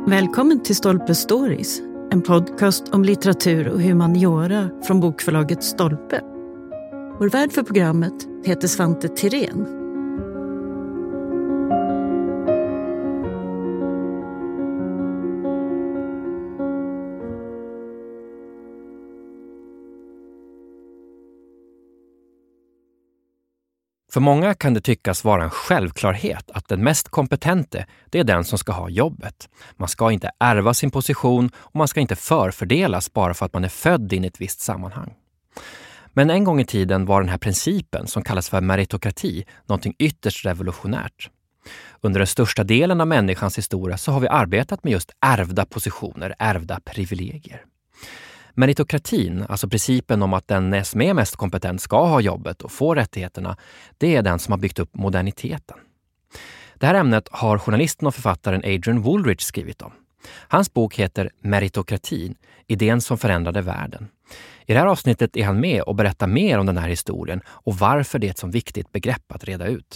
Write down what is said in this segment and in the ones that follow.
Välkommen till Stolpe Stories, en podcast om litteratur och humaniora från bokförlaget Stolpe. Vår värd för programmet heter Svante Tirén. För många kan det tyckas vara en självklarhet att den mest kompetente, det är den som ska ha jobbet. Man ska inte ärva sin position och man ska inte förfördelas bara för att man är född in i ett visst sammanhang. Men en gång i tiden var den här principen, som kallas för meritokrati, någonting ytterst revolutionärt. Under den största delen av människans historia så har vi arbetat med just ärvda positioner, ärvda privilegier. Meritokratin, alltså principen om att den som är mest kompetent ska ha jobbet och få rättigheterna, det är den som har byggt upp moderniteten. Det här ämnet har journalisten och författaren Adrian Wooldridge skrivit om. Hans bok heter Meritokratin, idén som förändrade världen. I det här avsnittet är han med och berättar mer om den här historien och varför det är ett så viktigt begrepp att reda ut.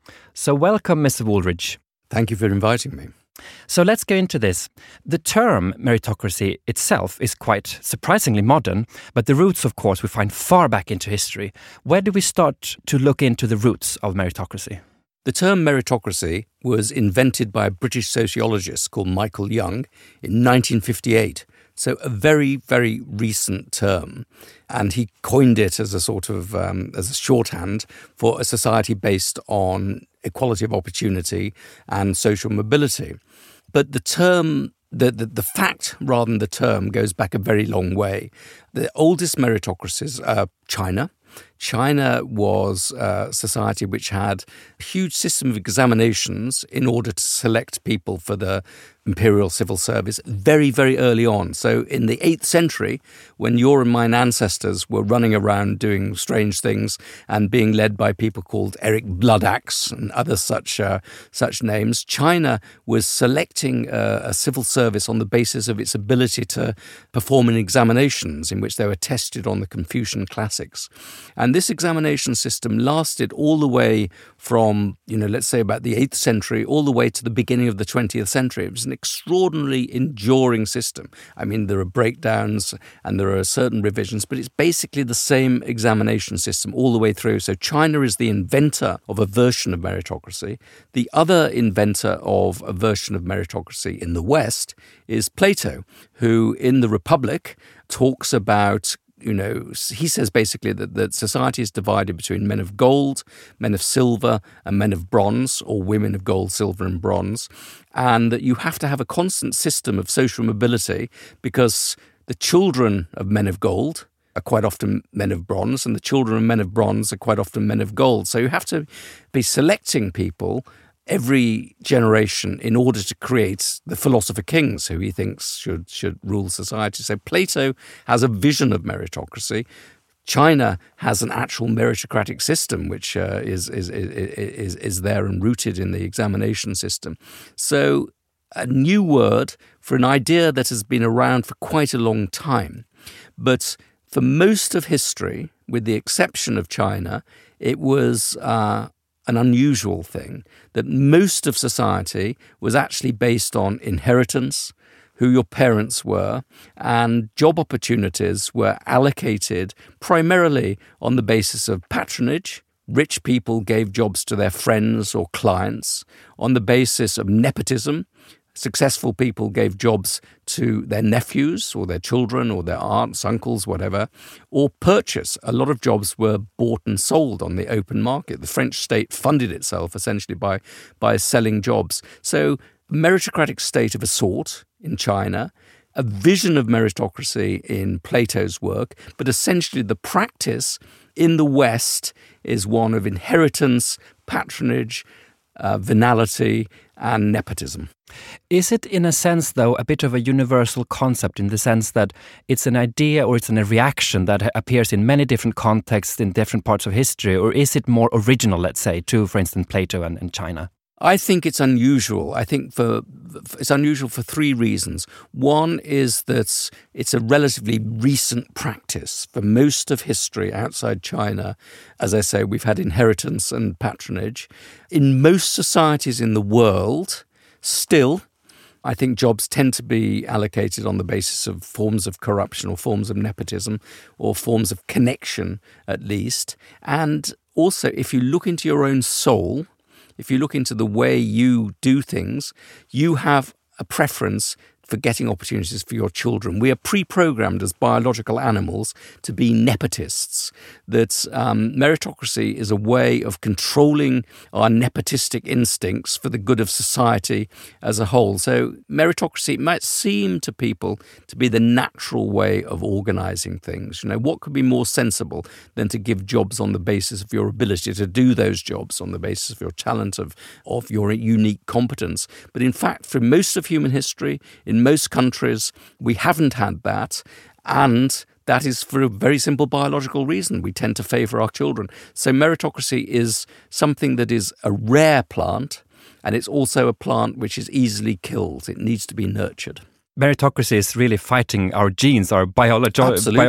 So welcome, Mr. Wooldridge. Thank you for inviting me. So let's go into this. The term meritocracy itself is quite surprisingly modern, but the roots, of course, we find far back into history. Where do we start to look into the roots of meritocracy? The term meritocracy was invented by a British sociologist called Michael Young in 1958. So a very, very recent term. And he coined it as a sort of as a shorthand for a society based on equality of opportunity and social mobility. But the term, the fact rather than the term, goes back a very long way. The oldest meritocracies are China. China was a society which had a huge system of examinations in order to select people for the imperial civil service very, very early on. So in the 8th century, when your and mine ancestors were running around doing strange things and being led by people called Eric Bloodaxe and other such names, China was selecting a civil service on the basis of its ability to perform in examinations in which they were tested on the Confucian classics. And this examination system lasted all the way from, let's say about the 8th century all the way to the beginning of the 20th century. It was an extraordinarily enduring system. I mean, there are breakdowns and there are certain revisions, but it's basically the same examination system all the way through. So China is the inventor of a version of meritocracy. The other inventor of a version of meritocracy in the West is Plato, who in the Republic talks about he says basically that society is divided between men of gold, men of silver, and men of bronze, or women of gold, silver, and bronze, and that you have to have a constant system of social mobility because the children of men of gold are quite often men of bronze, and the children of men of bronze are quite often men of gold. So you have to be selecting people every generation in order to create the philosopher kings who he thinks should rule society. So Plato has a vision of meritocracy. China has an actual meritocratic system which is there and rooted in the examination system. So a new word for an idea that has been around for quite a long time. But for most of history, with the exception of China, it was an unusual thing, that most of society was actually based on inheritance, who your parents were, and job opportunities were allocated primarily on the basis of patronage. Rich people gave jobs to their friends or clients. On the basis of nepotism, successful people gave jobs to their nephews or their children or their aunts, uncles, whatever, or purchase. A lot of jobs were bought and sold on the open market. The French state funded itself essentially by selling jobs. So a meritocratic state of a sort in China, a vision of meritocracy in Plato's work, but essentially the practice in the West is one of inheritance, patronage, venality, and nepotism. Is it, in a sense, though, a bit of a universal concept in the sense that it's an idea or it's a reaction that appears in many different contexts in different parts of history, or is it more original, let's say, to, for instance, Plato and China? I think it's unusual. I think it's unusual for three reasons. One is that it's a relatively recent practice. For most of history outside China, as I say, we've had inheritance and patronage. In most societies in the world, still, I think jobs tend to be allocated on the basis of forms of corruption or forms of nepotism or forms of connection, at least. And also, if you look into your own soul, if you look into the way you do things, you have a preference for getting opportunities for your children. We are pre-programmed as biological animals to be nepotists. That meritocracy is a way of controlling our nepotistic instincts for the good of society as a whole. So meritocracy might seem to people to be the natural way of organising things. What could be more sensible than to give jobs on the basis of your ability to do those jobs, on the basis of your talent, of your unique competence. But in fact, for most of human history, in most countries, we haven't had that, and that is for a very simple biological reason. We tend to favour our children. So meritocracy is something that is a rare plant, and it's also a plant which is easily killed. It needs to be nurtured. Meritocracy is really fighting our genes, our biology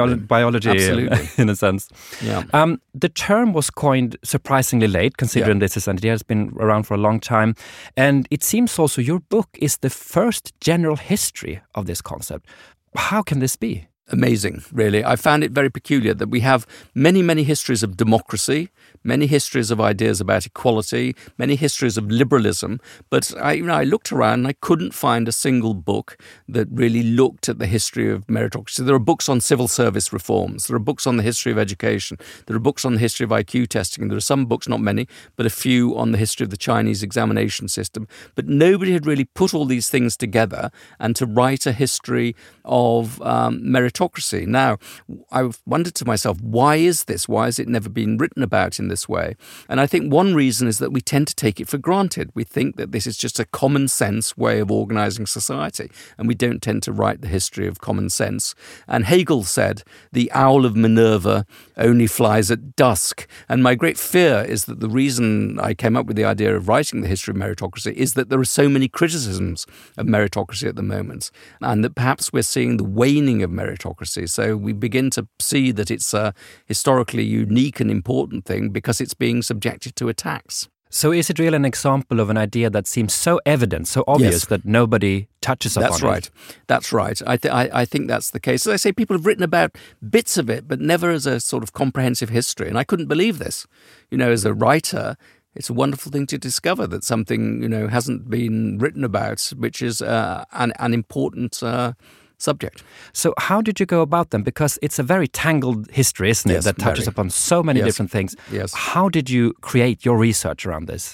Absolutely. In a sense. Yeah. The term was coined surprisingly late, considering this is an idea that's been around for a long time. And it seems also your book is the first general history of this concept. How can this be? Amazing, really. I found it very peculiar that we have many, many histories of democracy, many histories of ideas about equality, many histories of liberalism. But I looked around and I couldn't find a single book that really looked at the history of meritocracy. There are books on civil service reforms. There are books on the history of education. There are books on the history of IQ testing. There are some books, not many, but a few on the history of the Chinese examination system. But nobody had really put all these things together and to write a history of meritocracy. Now, I've wondered to myself, why is this? Why has it never been written about in this way? And I think one reason is that we tend to take it for granted. We think that this is just a common sense way of organising society, and we don't tend to write the history of common sense. And Hegel said, the owl of Minerva only flies at dusk. And my great fear is that the reason I came up with the idea of writing the history of meritocracy is that there are so many criticisms of meritocracy at the moment, and that perhaps we're seeing the waning of meritocracy. So we begin to see that it's a historically unique and important thing because it's being subjected to attacks. So is it really an example of an idea that seems so evident, so obvious that nobody touches upon it? That's right. That's right. I think that's the case. As I say, people have written about bits of it, but never as a sort of comprehensive history. And I couldn't believe this. As a writer, it's a wonderful thing to discover that something, hasn't been written about, which is an important subject. So how did you go about them? Because it's a very tangled history, isn't it, that touches upon so many different things. Yes. How did you create your research around this?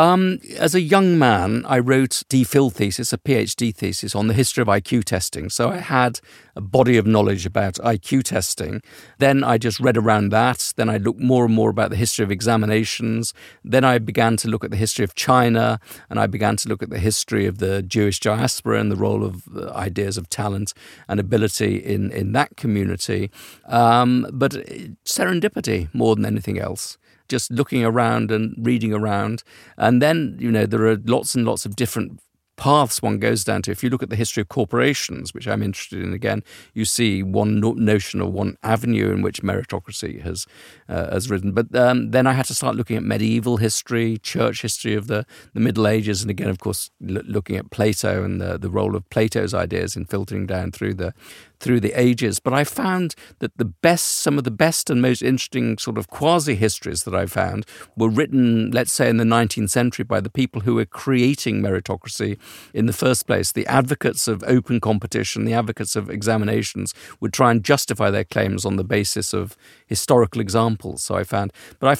As a young man, I wrote a PhD thesis on the history of IQ testing. So I had a body of knowledge about IQ testing. Then I just read around that. Then I looked more and more about the history of examinations. Then I began to look at the history of China, and I began to look at the history of the Jewish diaspora and the role of the ideas of talent and ability in that community. But serendipity more than anything else. Just looking around and reading around. And then, there are lots and lots of different paths one goes down to. If you look at the history of corporations, which I'm interested in again, you see one notion or one avenue in which meritocracy has risen. But then I had to start looking at medieval history, church history of the Middle Ages, and again, of course, looking at Plato and the role of Plato's ideas in filtering down through the ages. But I found that some of the best and most interesting sort of quasi-histories that I found were written, let's say, in the 19th century by the people who were creating meritocracy in the first place. The advocates of open competition, the advocates of examinations would try and justify their claims on the basis of historical examples. So I found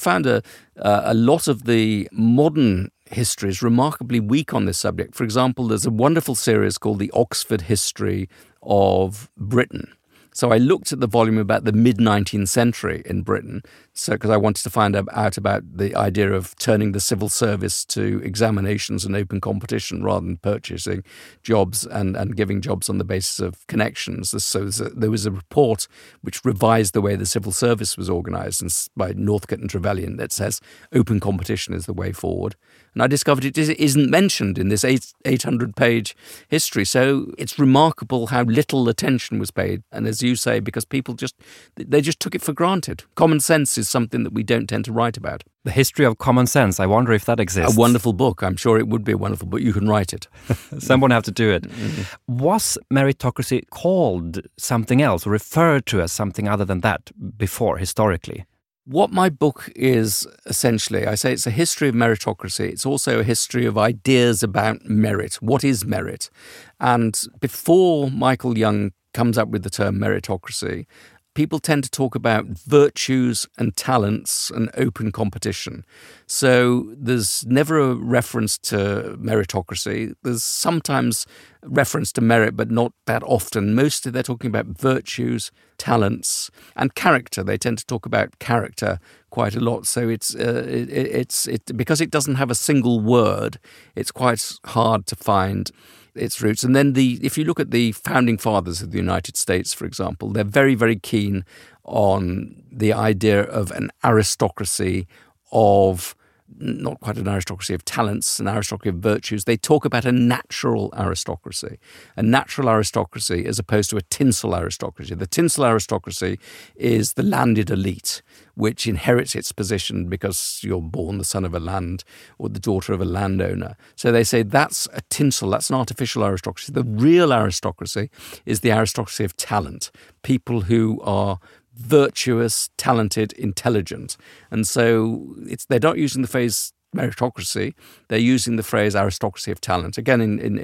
a lot of the modern history is remarkably weak on this subject. For example, there's a wonderful series called The Oxford History of Britain. So I looked at the volume about the mid-19th century in Britain, because I wanted to find out about the idea of turning the civil service to examinations and open competition rather than purchasing jobs and giving jobs on the basis of connections. So there was a report which revised the way the civil service was organised by Northcote and Trevelyan that says open competition is the way forward. And I discovered it isn't mentioned in this 800-page history. So it's remarkable how little attention was paid. And as you say, because people just took it for granted. Common sense is is something that we don't tend to write about. The History of Common Sense. I wonder if that exists. A wonderful book. I'm sure it would be a wonderful book. You can write it. Someone have to do it. Was meritocracy called something else or referred to as something other than that before, historically? What my book is essentially, I say it's a history of meritocracy. It's also a history of ideas about merit. What is merit? And before Michael Young comes up with the term meritocracy, people tend to talk about virtues and talents and open competition. So there's never a reference to meritocracy. There's sometimes reference to merit, but not that often. Mostly they're talking about virtues, talents, and character. They tend to talk about character quite a lot. So it's because it doesn't have a single word, it's quite hard to find its roots. And then if you look at the founding fathers of the United States, for example, they're very, very keen on the idea of an aristocracy of, not quite an aristocracy of talents, an aristocracy of virtues. They talk about a natural aristocracy as opposed to a tinsel aristocracy. The tinsel aristocracy is the landed elite, which inherits its position because you're born the son of a land or the daughter of a landowner. So they say that's a tinsel, that's an artificial aristocracy. The real aristocracy is the aristocracy of talent, people who are virtuous, talented, intelligent. And so they're not using the phrase meritocracy, they're using the phrase aristocracy of talent. Again,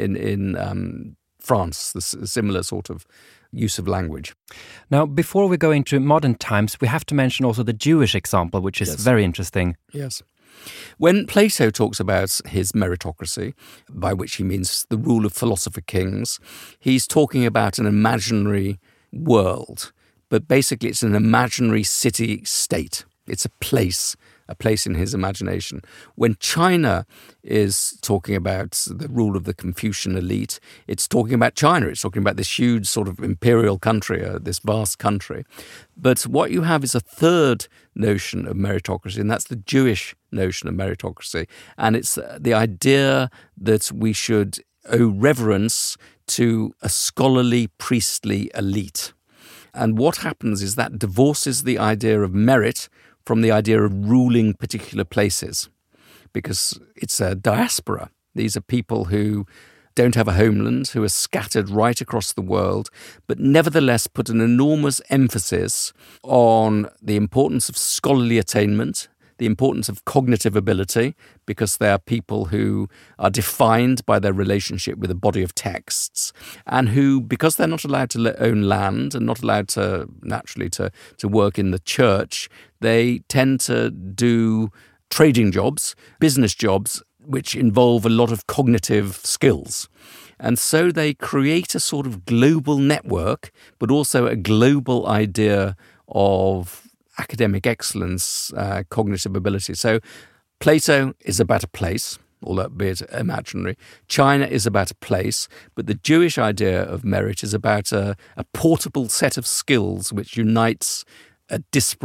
in France, the similar sort of use of language. Now, before we go into modern times, we have to mention also the Jewish example, which is very interesting. Yes. When Plato talks about his meritocracy, by which he means the rule of philosopher kings, he's talking about an imaginary world. But basically it's an imaginary city-state. It's a place in his imagination. When China is talking about the rule of the Confucian elite, it's talking about China. It's talking about this huge sort of imperial country, this vast country. But what you have is a third notion of meritocracy, and that's the Jewish notion of meritocracy. And it's the idea that we should owe reverence to a scholarly, priestly elite. And what happens is that divorces the idea of merit from the idea of ruling particular places, because it's a diaspora. These are people who don't have a homeland, who are scattered right across the world, but nevertheless put an enormous emphasis on the importance of scholarly attainment, the importance of cognitive ability, because they are people who are defined by their relationship with a body of texts, and who, because they're not allowed to own land and not allowed to, naturally, to work in the church, they tend to do trading jobs, business jobs, which involve a lot of cognitive skills. And so they create a sort of global network, but also a global idea of academic excellence, cognitive ability. So Plato is about a place, albeit imaginary. China is about a place, but the Jewish idea of merit is about a portable set of skills which unites a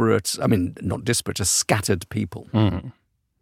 scattered people. Mm.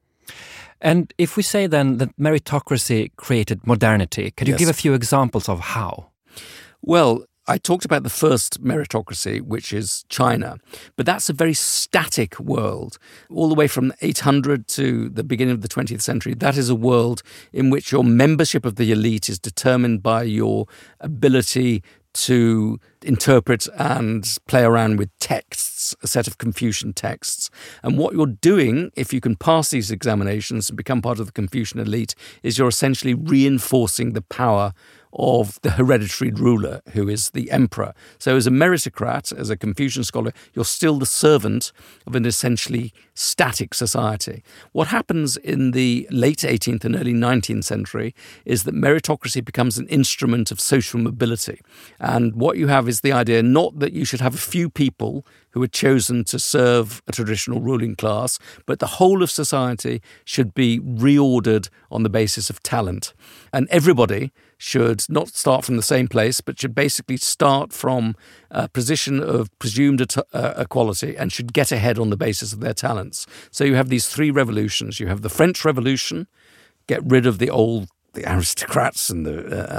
And if we say then that meritocracy created modernity, could you give a few examples of how? Well, I talked about the first meritocracy, which is China, but that's a very static world. All the way from 800 to the beginning of the 20th century, that is a world in which your membership of the elite is determined by your ability to interpret and play around with texts, a set of Confucian texts. And what you're doing, if you can pass these examinations and become part of the Confucian elite, is you're essentially reinforcing the power of the hereditary ruler, who is the emperor. So as a meritocrat, as a Confucian scholar, you're still the servant of an essentially static society. What happens in the late 18th and early 19th century is that meritocracy becomes an instrument of social mobility. And what you have is the idea not that you should have a few people who are chosen to serve a traditional ruling class, but the whole of society should be reordered on the basis of talent. And everybody should not start from the same place, but should basically start from a position of presumed equality and should get ahead on the basis of their talents. So you have these three revolutions. You have the French Revolution, get rid of the old the aristocrats and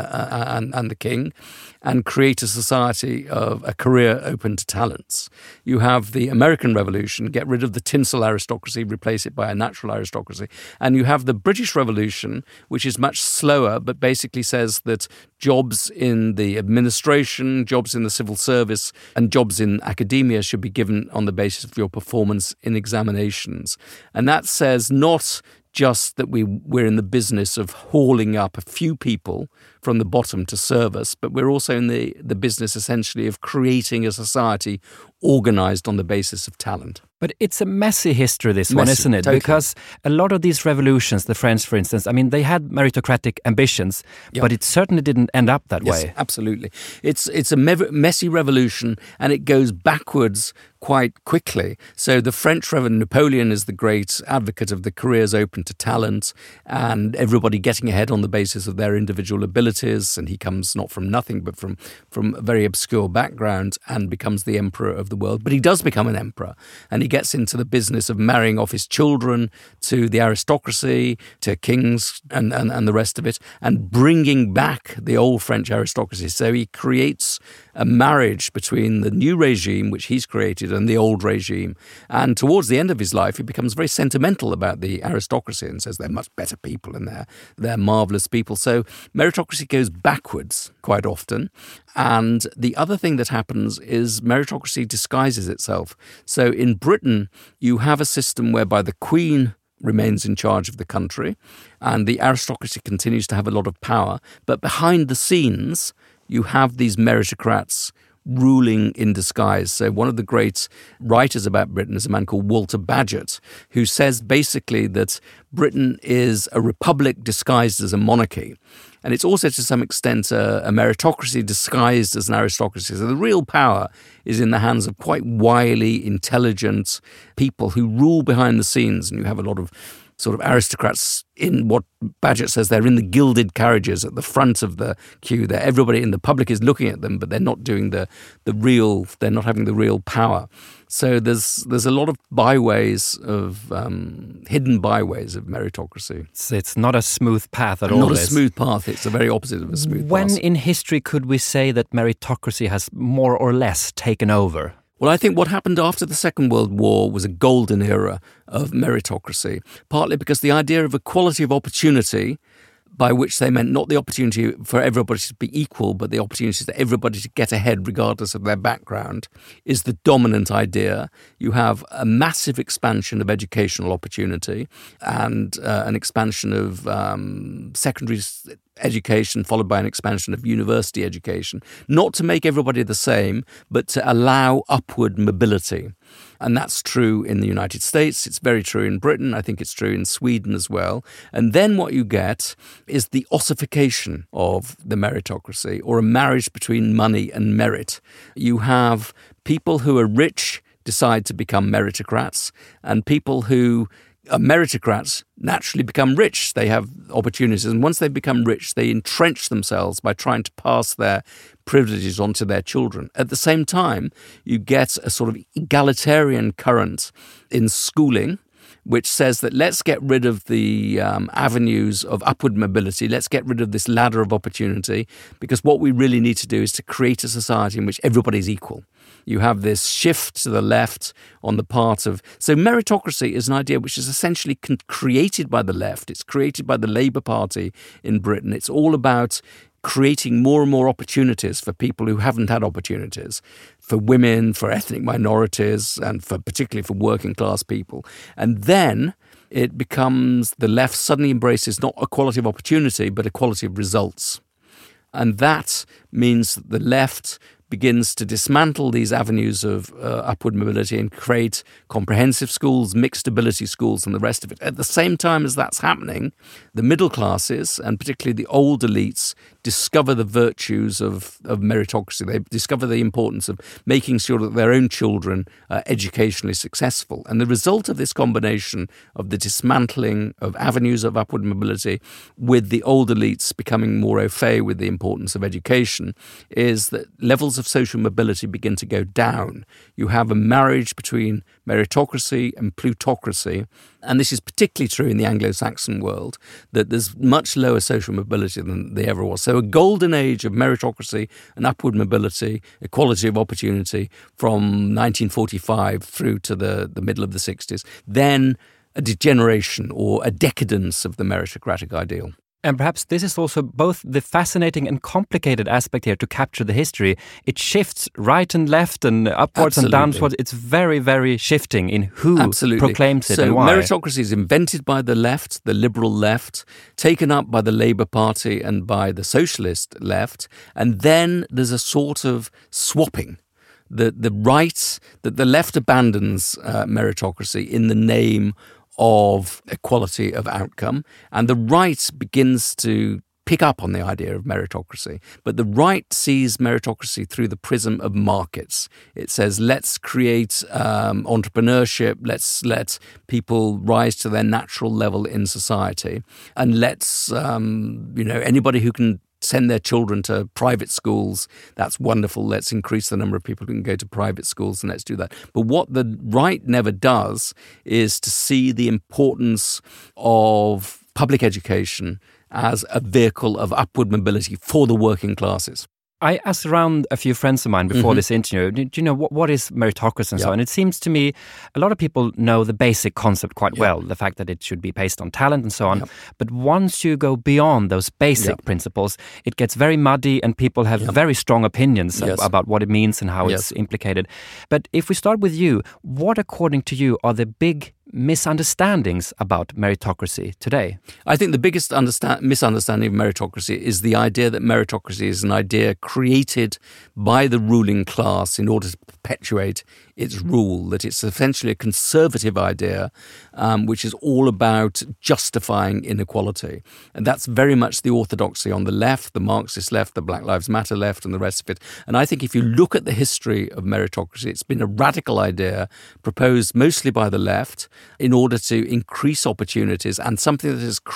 the king, and create a society of a career open to talents. You have the American Revolution, get rid of the tinsel aristocracy, replace it by a natural aristocracy. And you have the British Revolution, which is much slower, but basically says that jobs in the administration, jobs in the civil service, and jobs in academia should be given on the basis of your performance in examinations. And that says not just that we're in the business of hauling up a few people from the bottom to serve us, but we're also in the business essentially of creating a society organized on the basis of talent. But it's a messy history, this one, isn't it? Totally. Because a lot of these revolutions, the French, for instance, I mean, they had meritocratic ambitions, but it certainly didn't end up that way. Yes, absolutely. It's a messy revolution, and it goes backwards quite quickly. So the French Revolution, Napoleon is the great advocate of the careers open to talent and everybody getting ahead on the basis of their individual abilities. And he comes not from nothing, but from a very obscure background and becomes the emperor of the world. But he does become an emperor, and he gets into the business of marrying off his children to the aristocracy, to kings and the rest of it, and bringing back the old French aristocracy. So he creates a marriage between the new regime, which he's created, and the old regime. And towards the end of his life, he becomes very sentimental about the aristocracy and says they're much better people and they're marvellous people. So meritocracy goes backwards quite often. And the other thing that happens is meritocracy disguises itself. So in Britain, you have a system whereby the Queen remains in charge of the country and the aristocracy continues to have a lot of power. But behind the scenes, you have these meritocrats ruling in disguise. So one of the great writers about Britain is a man called Walter Bagehot, who says basically that Britain is a republic disguised as a monarchy. And it's also to some extent a meritocracy disguised as an aristocracy. So the real power is in the hands of quite wily, intelligent people who rule behind the scenes. And you have a lot of sort of aristocrats in what Bagehot says, they're in the gilded carriages at the front of the queue. There, everybody in the public is looking at them, but they're not doing they're not having the real power. So there's a lot of byways of hidden byways of meritocracy. So it's not a smooth path at all. Not a smooth path. It's the very opposite of a smooth path. When in history could we say that meritocracy has more or less taken over? Well, I think what happened after the Second World War was a golden era of meritocracy, partly because the idea of equality of opportunity, by which they meant not the opportunity for everybody to be equal, but the opportunity for everybody to get ahead regardless of their background, is the dominant idea. You have a massive expansion of educational opportunity and an expansion of secondary education followed by an expansion of university education, not to make everybody the same, but to allow upward mobility. And that's true in the United States. It's very true in Britain. I think it's true in Sweden as well. And then what you get is the ossification of the meritocracy, or a marriage between money and merit. You have people who are rich decide to become meritocrats, and people who meritocrats naturally become rich. They have opportunities. And once they become rich, they entrench themselves by trying to pass their privileges onto their children. At the same time, you get a sort of egalitarian current in schooling, which says that let's get rid of the avenues of upward mobility. Let's get rid of this ladder of opportunity, because what we really need to do is to create a society in which everybody's equal. You have this shift to the left on the part of... So meritocracy is an idea which is essentially created by the left. It's created by the Labour Party in Britain. It's all about creating more and more opportunities for people who haven't had opportunities, for women, for ethnic minorities, and particularly for working class people. And then it becomes, the left suddenly embraces not equality of opportunity, but equality of results. And that means that the left begins to dismantle these avenues of upward mobility and create comprehensive schools, mixed ability schools, and the rest of it. At the same time as that's happening, the middle classes, and particularly the old elites, discover the virtues of meritocracy. They discover the importance of making sure that their own children are educationally successful. And the result of this combination of the dismantling of avenues of upward mobility with the old elites becoming more au fait with the importance of education is that levels levels of social mobility begin to go down. You have a marriage between meritocracy and plutocracy, and this is particularly true in the Anglo-Saxon world, that there's much lower social mobility than there ever was. So a golden age of meritocracy and upward mobility, equality of opportunity from 1945 through to the middle of the 60s. Then a degeneration or a decadence of the meritocratic ideal. And perhaps this is also both the fascinating and complicated aspect here to capture the history. It shifts right and left and upwards and downwards. It's very, very shifting in who proclaims it and why. So meritocracy is invented by the left, the liberal left, taken up by the Labour Party and by the socialist left. And then there's a sort of swapping. The right, that the left abandons meritocracy in the name of equality of outcome, and the right begins to pick up on the idea of meritocracy. But the right sees meritocracy through the prism of markets. It says, let's create entrepreneurship, let's let people rise to their natural level in society, and let's, anybody who can send their children to private schools, that's wonderful. Let's increase the number of people who can go to private schools, and let's do that. But what the right never does is to see the importance of public education as a vehicle of upward mobility for the working classes. I asked around a few friends of mine before this interview, do you know what is meritocracy and so on? It seems to me a lot of people know the basic concept quite well, the fact that it should be based on talent and so on. But once you go beyond those basic principles, it gets very muddy and people have very strong opinions about what it means and how it's implicated. But if we start with you, what according to you are the big misunderstandings about meritocracy today? I think the biggest misunderstanding of meritocracy is the idea that meritocracy is an idea created by the ruling class in order to perpetuate its rule, that it's essentially a conservative idea which is all about justifying inequality. And that's very much the orthodoxy on the left, the Marxist left, the Black Lives Matter left and the rest of it. And I think if you look at the history of meritocracy, it's been a radical idea proposed mostly by the left in order to increase opportunities, and something that has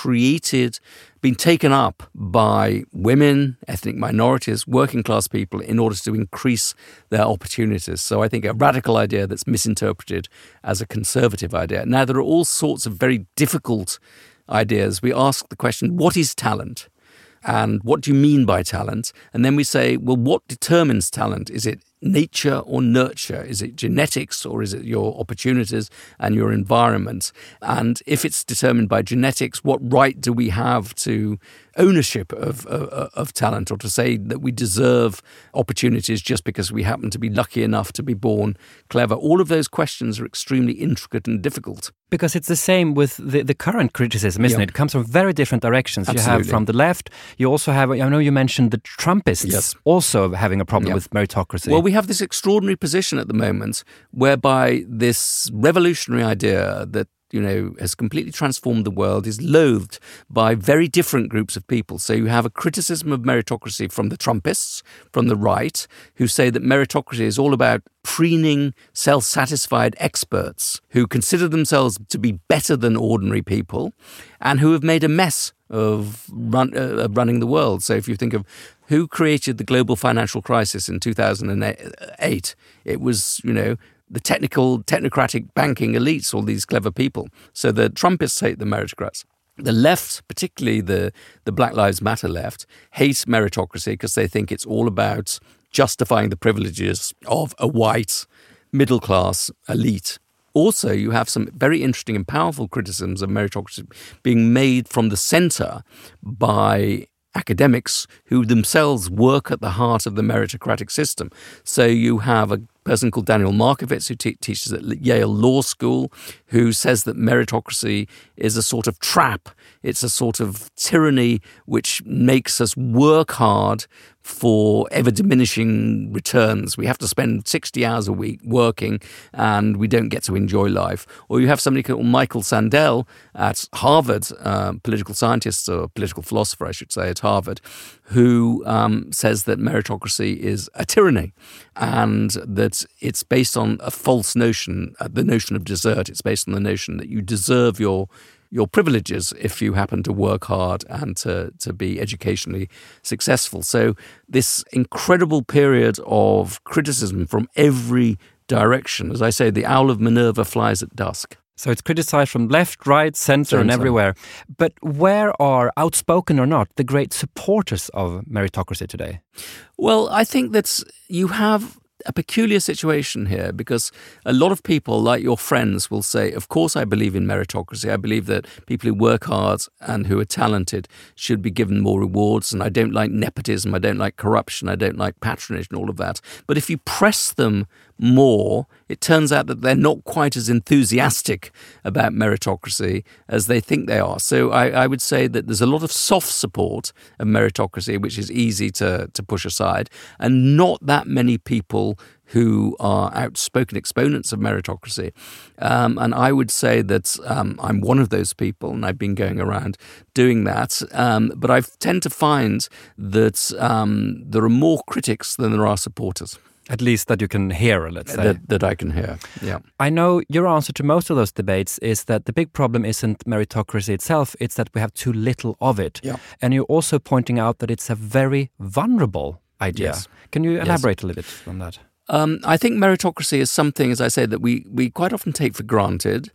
been taken up by women, ethnic minorities, working class people in order to increase their opportunities. So I think a radical idea that's misinterpreted as a conservative idea. Now, there are all sorts of very difficult ideas. We ask the question, what is talent? And what do you mean by talent? And then we say, well, what determines talent? Is it nature or nurture? Is it genetics or is it your opportunities and your environment? And if it's determined by genetics, what right do we have to ownership of talent, or to say that we deserve opportunities just because we happen to be lucky enough to be born clever? All of those questions are extremely intricate and difficult. Because it's the same with the current criticism, isn't it? It comes from very different directions. Absolutely. You have from the left, you also have, I know you mentioned the Trumpists also having a problem with meritocracy. Well, we have this extraordinary position at the moment whereby this revolutionary idea that has completely transformed the world is loathed by very different groups of people. So you have a criticism of meritocracy from the Trumpists, from the right, who say that meritocracy is all about preening self-satisfied experts who consider themselves to be better than ordinary people and who have made a mess of running the world. So if you think of who created the global financial crisis in 2008, it was, the technocratic banking elites, all these clever people. So the Trumpists hate the meritocrats. The left, particularly the Black Lives Matter left, hate meritocracy because they think it's all about justifying the privileges of a white middle-class elite. Also, you have some very interesting and powerful criticisms of meritocracy being made from the centre by academics who themselves work at the heart of the meritocratic system. So you have a person called Daniel Markovits who teaches at Yale Law School, who says that meritocracy is a sort of trap. It's a sort of tyranny which makes us work hard for ever-diminishing returns. We have to spend 60 hours a week working and we don't get to enjoy life. Or you have somebody called Michael Sandel at Harvard, political scientist or political philosopher, I should say, at Harvard, who says that meritocracy is a tyranny and that it's based on a false notion, the notion of desert. It's based on the notion that you deserve your your privileges if you happen to work hard and to be educationally successful. So this incredible period of criticism from every direction. As I say, the owl of Minerva flies at dusk. So it's criticized from left, right, center, and everywhere. But where are, outspoken or not, the great supporters of meritocracy today? Well, I think that you have a peculiar situation here, because a lot of people, like your friends, will say, of course I believe in meritocracy. I believe that people who work hard and who are talented should be given more rewards, and I don't like nepotism, I don't like corruption, I don't like patronage and all of that. But if you press them more, it turns out that they're not quite as enthusiastic about meritocracy as they think they are. So I would say that there's a lot of soft support of meritocracy, which is easy to push aside, and not that many people who are outspoken exponents of meritocracy. And I would say that I'm one of those people, and I've been going around doing that. But I tend to find that there are more critics than there are supporters. At least that you can hear, let's say. That I can hear, yeah. I know your answer to most of those debates is that the big problem isn't meritocracy itself, it's that we have too little of it. Yeah. And you're also pointing out that it's a very vulnerable idea. Yes. Can you elaborate a little bit on that? I think meritocracy is something, as I say, that we quite often take for granted,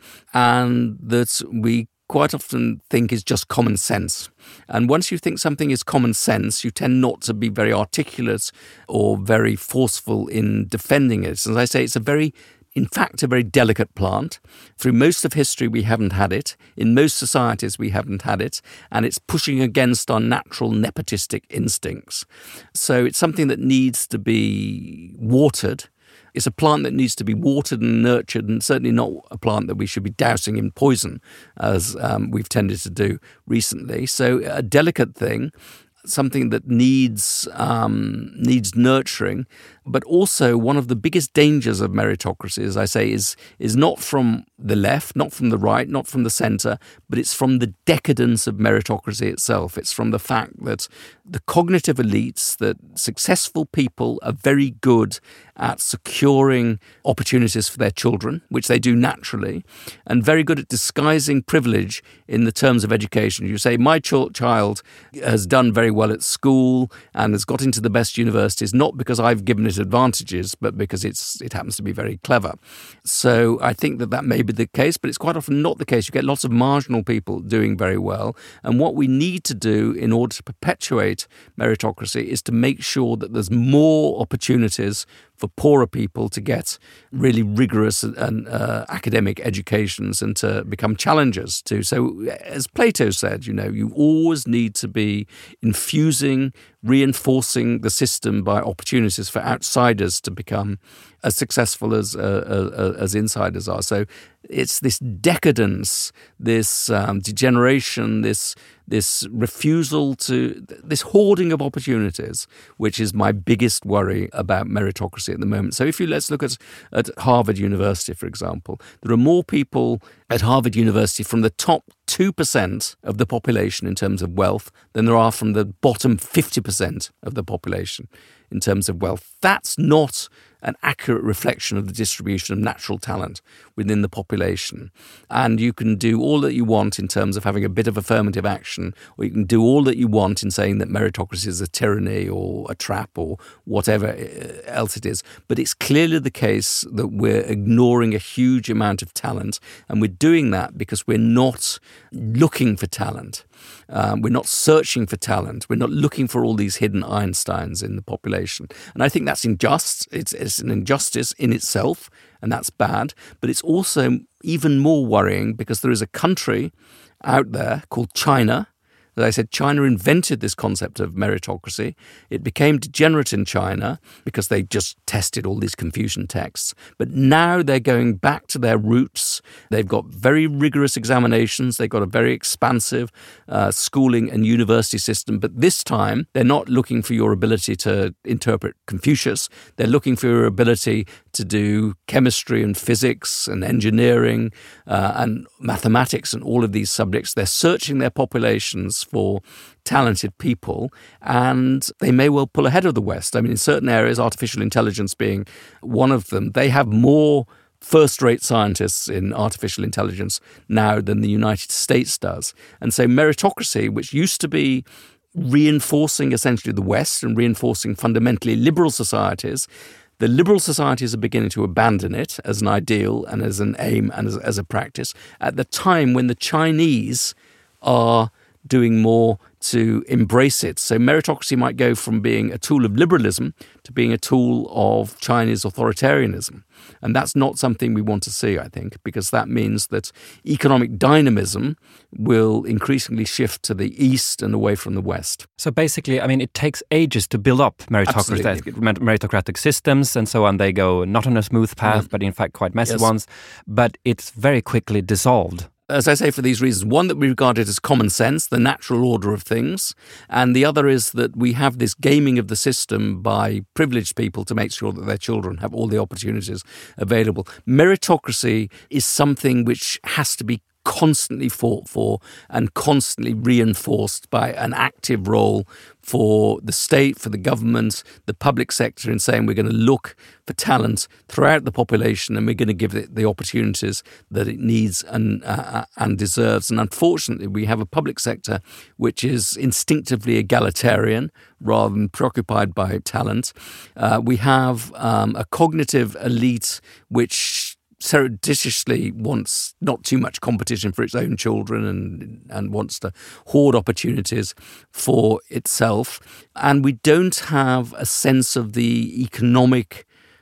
and that we quite often think is just common sense. And once you think something is common sense, you tend not to be very articulate or very forceful in defending it. As I say, it's in fact, a very delicate plant. Through most of history, we haven't had it. In most societies, we haven't had it. And it's pushing against our natural nepotistic instincts. So it's something that needs to be watered. It's a plant that needs to be watered and nurtured, and certainly not a plant that we should be dousing in poison, as we've tended to do recently. So a delicate thing, something that needs nurturing. But also one of the biggest dangers of meritocracy, as I say, is not from the left, not from the right, not from the centre, but it's from the decadence of meritocracy itself. It's from the fact that the cognitive elites, that successful people are very good at securing opportunities for their children, which they do naturally, and very good at disguising privilege in the terms of education. You say, my child has done very well at school and has got into the best universities, not because I've given it advantages, but because it happens to be very clever. So I think that may be the case, but it's quite often not the case. You get lots of marginal people doing very well. And what we need to do in order to perpetuate meritocracy is to make sure that there's more opportunities for poorer people to get really rigorous and academic educations and to become challengers too. So as Plato said, you always need to be infusing, reinforcing the system by opportunities for outsiders to become as successful as insiders are. So it's this decadence, this degeneration, this refusal to, this hoarding of opportunities, which is my biggest worry about meritocracy at the moment. So let's look at Harvard University, for example. There are more people at Harvard University from the top 2% of the population in terms of wealth than there are from the bottom 50% of the population in terms of wealth. That's not an accurate reflection of the distribution of natural talent within the population. And you can do all that you want in terms of having a bit of affirmative action, or you can do all that you want in saying that meritocracy is a tyranny or a trap or whatever else it is. But it's clearly the case that we're ignoring a huge amount of talent, and we're doing that because we're not looking for talent. We're not searching for talent. We're not looking for all these hidden Einsteins in the population. And I think that's unjust. It's an injustice in itself, and that's bad. But it's also even more worrying because there is a country out there called China. As I said, China invented this concept of meritocracy. It became degenerate in China because they just tested all these Confucian texts. But now they're going back to their roots. They've got very rigorous examinations. They've got a very expansive schooling and university system. But this time, they're not looking for your ability to interpret Confucius. They're looking for your ability to do chemistry and physics and engineering and mathematics and all of these subjects. They're searching their populations for talented people, and they may well pull ahead of the West. I mean, in certain areas, artificial intelligence being one of them, they have more first-rate scientists in artificial intelligence now than the United States does. And so meritocracy, which used to be reinforcing essentially the West and reinforcing fundamentally liberal societies, the liberal societies are beginning to abandon it as an ideal and as an aim and as a practice at the time when the Chinese are doing more to embrace it. So meritocracy might go from being a tool of liberalism to being a tool of Chinese authoritarianism. And that's not something we want to see, I think, because that means that economic dynamism will increasingly shift to the east and away from the west. So basically, I mean, it takes ages to build up meritocratic systems and so on. They go not on a smooth path, but in fact quite messy ones. But it's very quickly dissolved. As I say, for these reasons, one, that we regard it as common sense, the natural order of things, and the other is that we have this gaming of the system by privileged people to make sure that their children have all the opportunities available. Meritocracy is something which has to be constantly fought for and constantly reinforced by an active role for the state, for the government, the public sector, in saying we're going to look for talent throughout the population and we're going to give it the opportunities that it needs and deserves. And unfortunately, we have a public sector which is instinctively egalitarian rather than preoccupied by talent. We have a cognitive elite which surreptitiously wants not too much competition for its own children and wants to hoard opportunities for itself. And we don't have a sense of the economic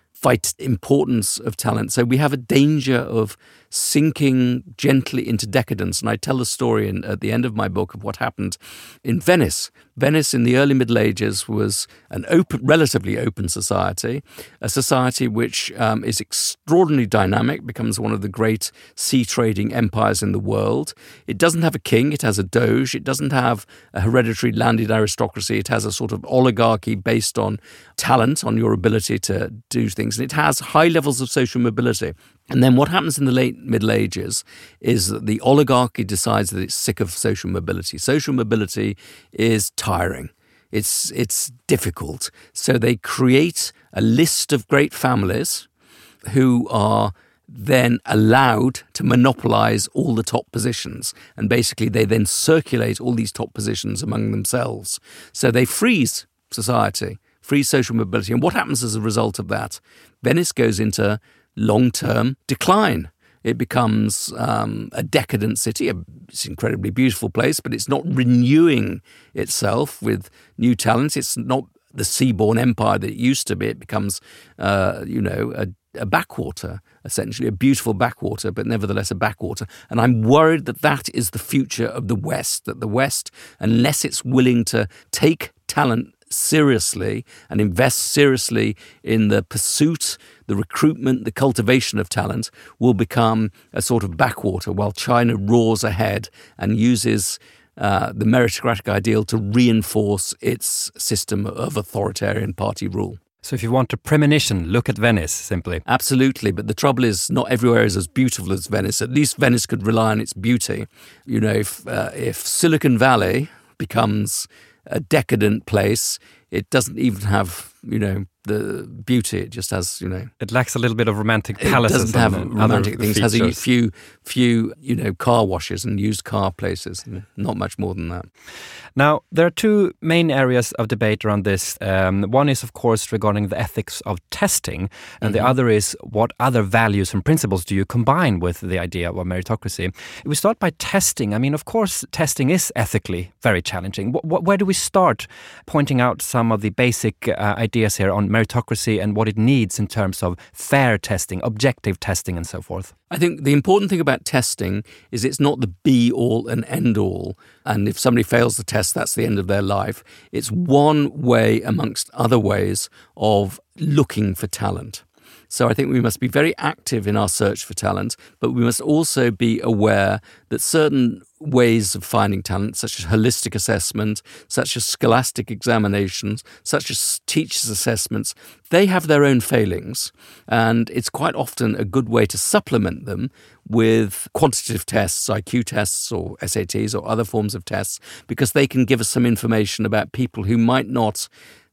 importance of talent. So we have a danger of sinking gently into decadence. And I tell the story at the end of my book of what happened in Venice. Venice in the early Middle Ages was an relatively open society, a society which is extraordinarily dynamic, becomes one of the great sea trading empires in the world. It doesn't have a king, it has a doge. It doesn't have a hereditary landed aristocracy. It has a sort of oligarchy based on talent, on your ability to do things. And it has high levels of social mobility. And then what happens in the late Middle Ages is that the oligarchy decides that it's sick of social mobility. Social mobility is tiring. It's difficult. So they create a list of great families who are then allowed to monopolize all the top positions. And basically they then circulate all these top positions among themselves. So they freeze society, freeze social mobility. And what happens as a result of that? Venice goes into long-term decline. It becomes a decadent city. It's an incredibly beautiful place, but it's not renewing itself with new talents. It's not the seaborne empire that it used to be. It becomes, a backwater, essentially, a beautiful backwater, but nevertheless a backwater. And I'm worried that that is the future of the West, that the West, unless it's willing to take talent seriously and invest seriously in the pursuit, the recruitment, the cultivation of talent, will become a sort of backwater while China roars ahead and uses the meritocratic ideal to reinforce its system of authoritarian party rule. So if you want a premonition, look at Venice, simply. Absolutely, but the trouble is not everywhere is as beautiful as Venice. At least Venice could rely on its beauty. You know, if Silicon Valley becomes a decadent place, it doesn't even have, the beauty. It just has, It lacks a little bit of romantic palaces. It doesn't have romantic things. Features. It has a few, car washes and used car places. Not much more than that. Now, there are two main areas of debate around this. One is, of course, regarding the ethics of testing, and the other is what other values and principles do you combine with the idea of meritocracy. If we start by testing, I mean, of course, testing is ethically very challenging. Where do we start pointing out some of the basic ideas here on meritocracy and what it needs in terms of fair testing, objective testing, and so forth? I think the important thing about testing is it's not the be-all and end-all. And if somebody fails the test, that's the end of their life. It's one way amongst other ways of looking for talent. So I think we must be very active in our search for talent, but we must also be aware that certain ways of finding talent, such as holistic assessment, such as scholastic examinations, such as teachers' assessments, they have their own failings. And it's quite often a good way to supplement them with quantitative tests, IQ tests or SATs or other forms of tests, because they can give us some information about people who might not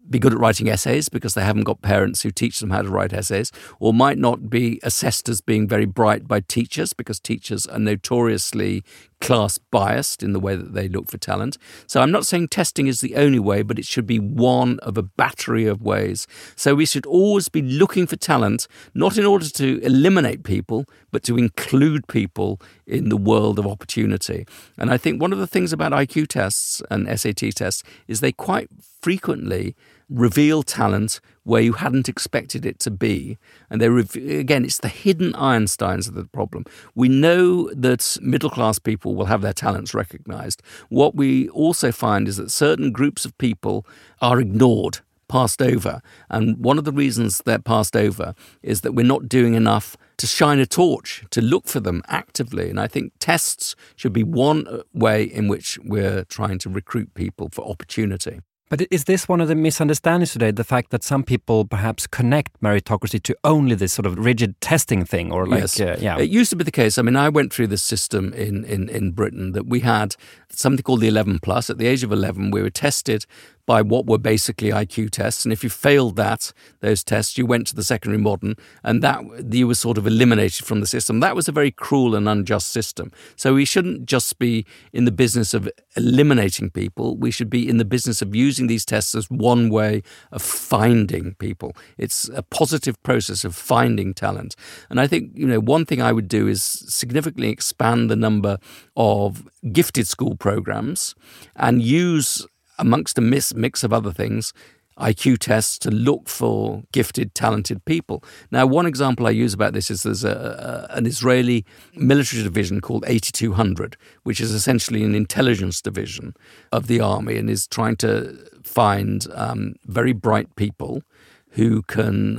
be good at writing essays because they haven't got parents who teach them how to write essays, or might not be assessed as being very bright by teachers because teachers are notoriously class biased in the way that they look for talent. So I'm not saying testing is the only way, but it should be one of a battery of ways. So we should always be looking for talent, not in order to eliminate people, but to include people in the world of opportunity. And I think one of the things about IQ tests and SAT tests is they quite frequently reveal talent where you hadn't expected it to be. And again, it's the hidden Einsteins of the problem. We know that middle-class people will have their talents recognized. What we also find is that certain groups of people are ignored, passed over. And one of the reasons they're passed over is that we're not doing enough to shine a torch, to look for them actively. And I think tests should be one way in which we're trying to recruit people for opportunity. But is this one of the misunderstandings today, the fact that some people perhaps connect meritocracy to only this sort of rigid testing thing? Or like, yes. It used to be the case. I mean, I went through this system in Britain that we had something called the 11 plus. At the age of 11, we were tested by what were basically IQ tests. And if you failed those tests, you went to the secondary modern, and that you were sort of eliminated from the system. That was a very cruel and unjust system. So we shouldn't just be in the business of eliminating people. We should be in the business of using these tests as one way of finding people. It's a positive process of finding talent. And I think, one thing I would do is significantly expand the number of gifted school programs and use, amongst a mix of other things, IQ tests to look for gifted, talented people. Now, one example I use about this is there's an Israeli military division called 8200, which is essentially an intelligence division of the army and is trying to find very bright people who can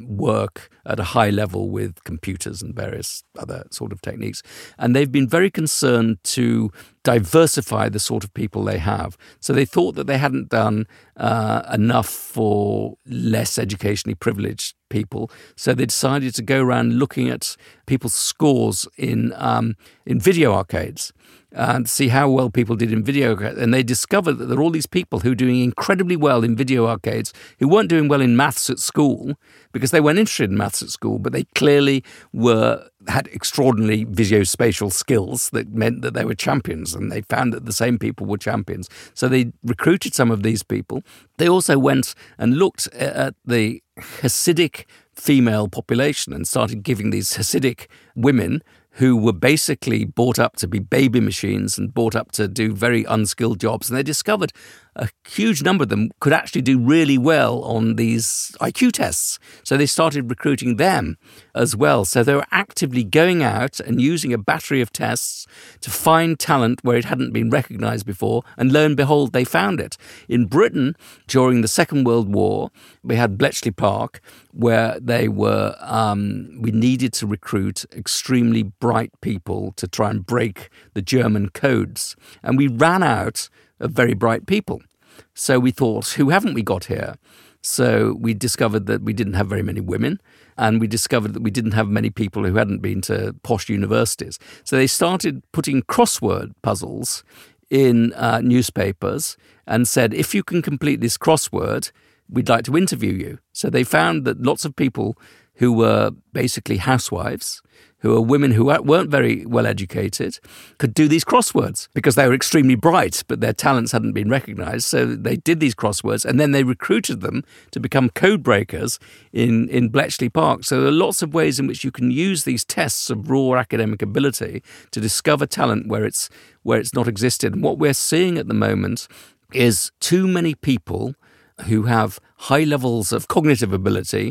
work at a high level with computers and various other sort of techniques. And they've been very concerned to diversify the sort of people they have. So they thought that they hadn't done enough for less educationally privileged people. So they decided to go around looking at people's scores in video arcades and see how well people did in video arcades. And they discovered that there are all these people who are doing incredibly well in video arcades who weren't doing well in maths at school because they weren't interested in maths at school, but they clearly had extraordinary visuospatial skills that meant that they were champions, and they found that the same people were champions. So they recruited some of these people. They also went and looked at the Hasidic female population and started giving these Hasidic women who were basically brought up to be baby machines and brought up to do very unskilled jobs. And they discovered a huge number of them could actually do really well on these IQ tests. So they started recruiting them as well. So they were actively going out and using a battery of tests to find talent where it hadn't been recognized before. And lo and behold, they found it. In Britain, during the Second World War, we had Bletchley Park, where they were, we needed to recruit extremely bright people to try and break the German codes. And we ran out of very bright people. So we thought, who haven't we got here? So we discovered that we didn't have very many women, and we discovered that we didn't have many people who hadn't been to posh universities. So they started putting crossword puzzles in newspapers and said, if you can complete this crossword, we'd like to interview you. So they found that lots of people who were basically housewives, who were women who weren't very well educated, could do these crosswords because they were extremely bright, but their talents hadn't been recognized. So they did these crosswords, and then they recruited them to become code breakers in Bletchley Park. So there are lots of ways in which you can use these tests of raw academic ability to discover talent where it's not existed. And what we're seeing at the moment is too many people who have high levels of cognitive ability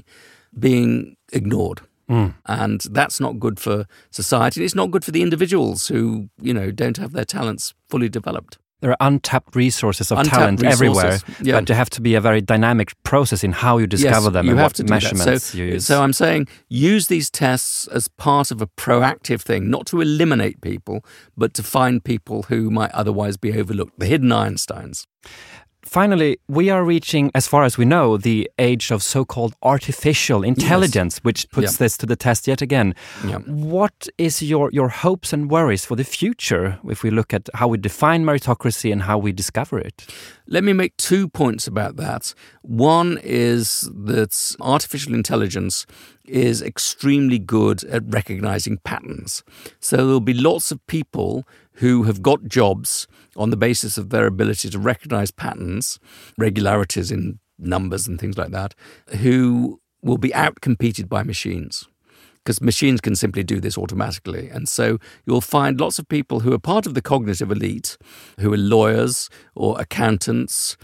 being ignored. And that's not good for society. It's not good for the individuals who, don't have their talents fully developed. There are untapped resources of talent everywhere, but there have to be a very dynamic process in how you discover them and what measurements you use. So I'm saying use these tests as part of a proactive thing, not to eliminate people, but to find people who might otherwise be overlooked, the hidden Einsteins. Finally, we are reaching, as far as we know, the age of so-called artificial intelligence, which puts this to the test yet again. What is your hopes and worries for the future if we look at how we define meritocracy and how we discover it? Let me make 2 points about that. One is that artificial intelligence is extremely good at recognizing patterns. So there'll be lots of people who have got jobs on the basis of their ability to recognize patterns, regularities in numbers and things like that, who will be outcompeted by machines, because machines can simply do this automatically. And so you'll find lots of people who are part of the cognitive elite, who are lawyers or accountants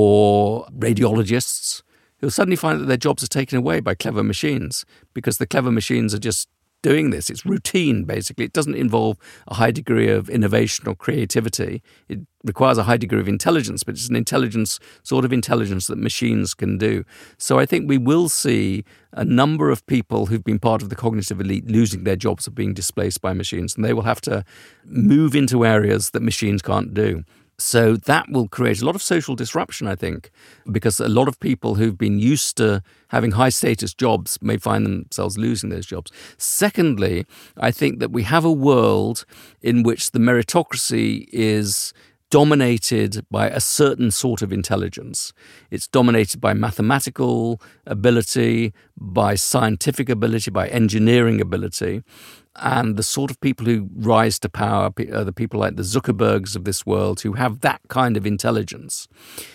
or radiologists, who'll suddenly find that their jobs are taken away by clever machines, because the clever machines are just doing this. It's routine, basically. It doesn't involve a high degree of innovation or creativity. It requires a high degree of intelligence, but it's an intelligence, sort of intelligence that machines can do. So I think we will see a number of people who've been part of the cognitive elite losing their jobs or being displaced by machines, and they will have to move into areas that machines can't do. So that will create a lot of social disruption, I think, because a lot of people who've been used to having high-status jobs may find themselves losing those jobs. Secondly, I think that we have a world in which the meritocracy is dominated by a certain sort of intelligence. It's dominated by mathematical ability, by scientific ability, by engineering ability. And the sort of people who rise to power are the people like the Zuckerbergs of this world who have that kind of intelligence.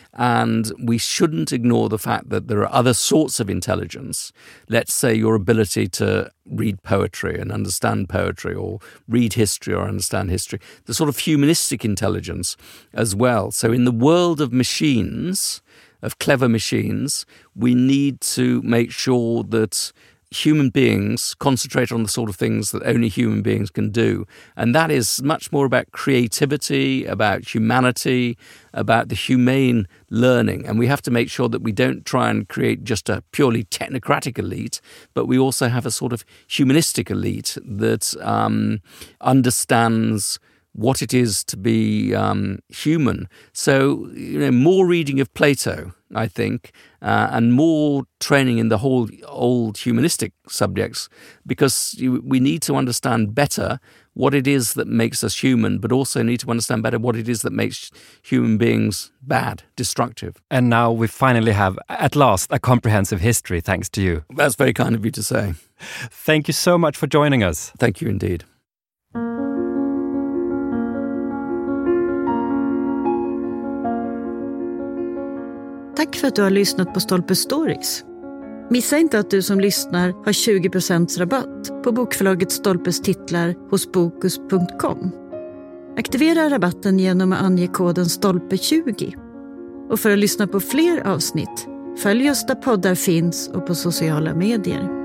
And we shouldn't ignore the fact that there are other sorts of intelligence. Let's say your ability to read poetry and understand poetry, or read history or understand history. The sort of humanistic intelligence as well. So in the world of machines, of clever machines, we need to make sure that human beings concentrate on the sort of things that only human beings can do. And that is much more about creativity, about humanity, about the humane learning. And we have to make sure that we don't try and create just a purely technocratic elite, but we also have a sort of humanistic elite that understands what it is to be human. So, more reading of Plato, I think, and more training in the whole old humanistic subjects, because we need to understand better what it is that makes us human, but also need to understand better what it is that makes human beings bad, destructive. And now we finally have, at last, a comprehensive history, thanks to you. That's very kind of you to say. Thank you so much for joining us. Thank you indeed. Tack för att du har lyssnat på Stolpe Stories. Missa inte att du som lyssnar har 20% rabatt på bokförlaget Stolpes titlar hos Bokus.com. Aktivera rabatten genom att ange koden Stolpe20. Och för att lyssna på fler avsnitt, följ oss där poddar finns och på sociala medier.